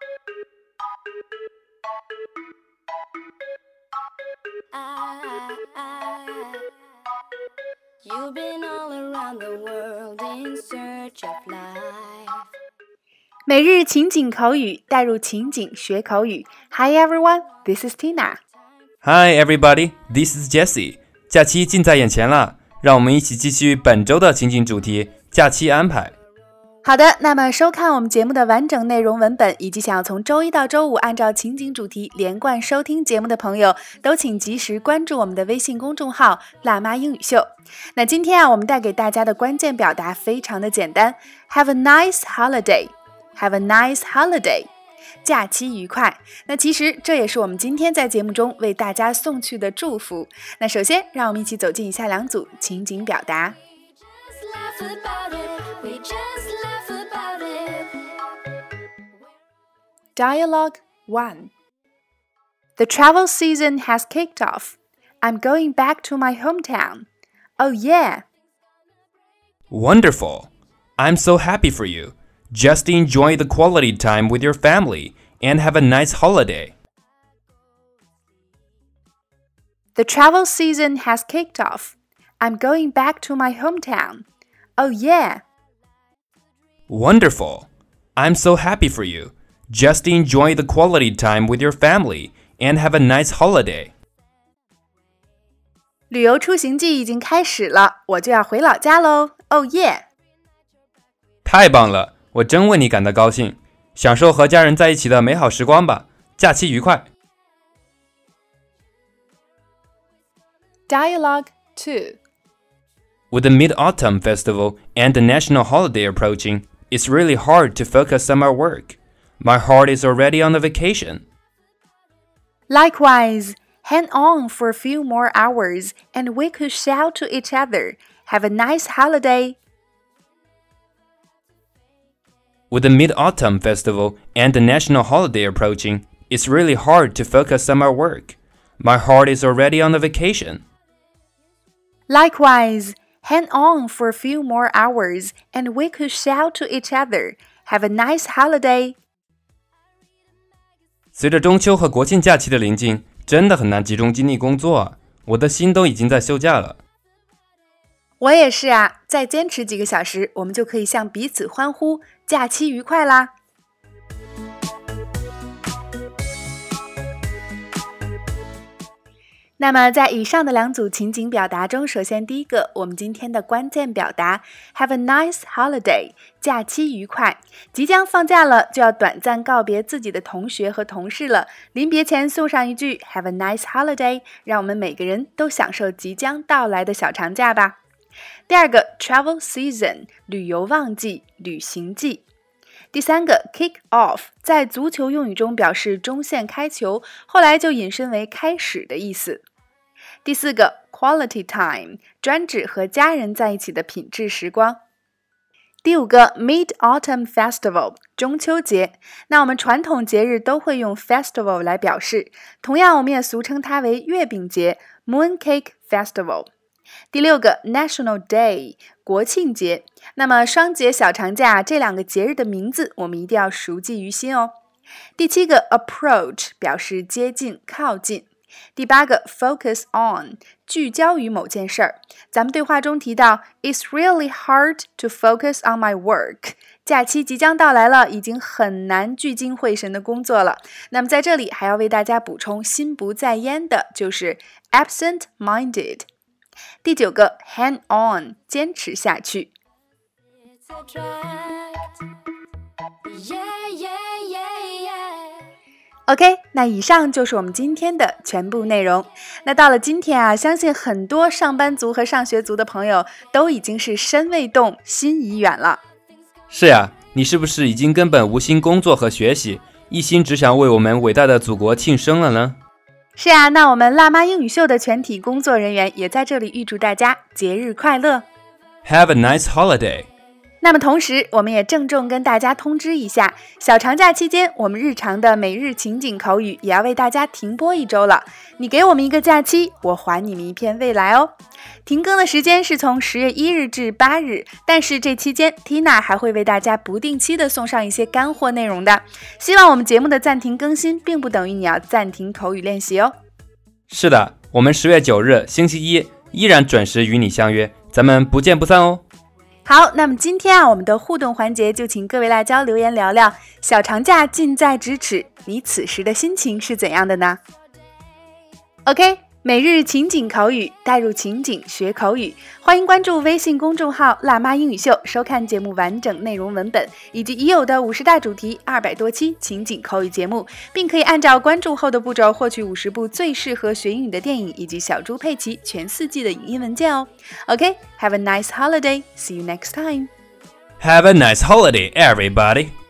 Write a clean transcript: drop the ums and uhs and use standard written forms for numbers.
You've been all around the world in search of life. 每日情景口语，带入情景学口语。Hi everyone, this is Tina. Hi everybody, this is Jessie. 假期近在眼前了，让我们一起继续本周的情景主题——假期安排。 好的，那么收看我们节目的完整内容文本，以及想要从周一到周五按照情景主题连贯收听节目的朋友，都请及时关注我们的微信公众号“辣妈英语秀”。那今天我们带给大家的关键表达非常的简单 ，Have a nice holiday. Have a nice holiday. 假期愉快。那其实这也是我们今天在节目中为大家送去的祝福。那首先，让我们一起走进以下两组情景表达。Dialogue 1. The travel season has kicked off. I'm going back to my hometown. Oh yeah. Wonderful. I'm so happy for you. Just enjoy the quality time with your family and have a nice holiday. The travel season has kicked off. I'm going back to my hometown. Oh yeah. Wonderful. I'm so happy for you. Just enjoy the quality time with your family and have a nice holiday. 旅游出行季已经开始了，我就要回老家喽。Oh yeah. 太棒了，我真为你感到高兴。享受和家人在一起的美好时光吧，假期愉快。 Dialogue 2. With the Mid-Autumn Festival and the national holiday approaching, it's really hard to focus on my work. My heart is already on the vacation. Likewise, hang on for a few more hours and we could shout to each other, Have a nice holiday. With the Mid-Autumn Festival and the national holiday approaching, it's really hard to focus on my work. My heart is already on the vacation. Likewise, hang on for a few more hours and we could shout to each other, Have a nice holiday. 随着中秋和国庆假期的临近，真的很难集中精力工作啊！我的心都已经在休假了。 我也是啊，再坚持几个小时，我们就可以向彼此欢呼，假期愉快啦！那么在以上的两组情景表达中，首先第一个，我们今天的关键表达 Have a nice holiday， 假期愉快。即将放假了，就要短暂告别自己的同学和同事了。临别前送上一句 Have a nice holiday， 让我们每个人都享受即将到来的小长假吧。第二个 Travel season， 旅游旺季、旅行季。第三个 kick off 在足球用语中表示中线开球，后来就引申为开始的意思。第四个 quality time 专指和家人在一起的品质时光。第五个 Mid-Autumn Festival 中秋节，那我们传统节日都会用 festival 来表示，同样我们也俗称它为月饼节 Mooncake Festival。第六个 National Day 国庆节，那么双节小长假这两个节日的名字我们一定要熟记于心哦。第七个 Approach 表示接近靠近。第八个 Focus on 聚焦于某件事儿，咱们对话中提到 It's really hard to focus on my work， 假期即将到来了，已经很难聚精会神的工作了。那么在这里还要为大家补充心不在焉的就是 absent-minded。第九个 hang on 坚持下去。OK， 那以上就是我们今天的全部内容。那到了今天啊，相信很多上班族和上学族的朋友都已经是身未动，心已远了。 是呀，你是不是已经根本无心工作和学习，一心只想为我们伟大的祖国庆生了呢？ 是啊，那我们辣妈英语秀的全体工作人员也在这里预祝大家节日快乐。 Have a nice holiday. 那么同时，我们也郑重跟大家通知一下，小长假期间，我们日常的每日情景口语也要为大家停播1周了。你给我们一个假期，我还你们一片未来哦。停更的时间是从10月1日至8日，但是这期间 Tina 还会为大家不定期的送上一些干货内容的。希望我们节目的暂停更新，并不等于你要暂停口语练习哦。 是的，我们10月9日星期一依然准时与你相约，咱们不见不散哦。 好，那么今天我们的互动环节就请各位辣椒留言聊聊，小长假近在咫尺，你此时的心情是怎样的呢？ OK， 每日情景口语，带入情景学口语，欢迎关注微信公众号辣妈英语秀，收看节目完整内容文本，以及已有的50大主题200多期情景口语节目，并可以按照关注后的步骤获取50部最适合学英语的电影，以及小猪佩奇全4季的影音文件哦。OK， have a nice holiday. See you next time. Have a nice holiday, everybody.